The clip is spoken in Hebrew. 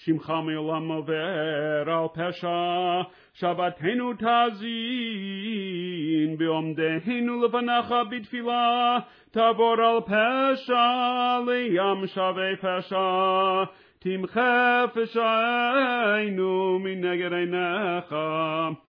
שמך מעולם עובר על פשע, שבתנו תאזין, בעומדנו לפניך בתפילה, תעבור על פשע, לים שווה פשע, תמחה פשענו מנגד עיניך.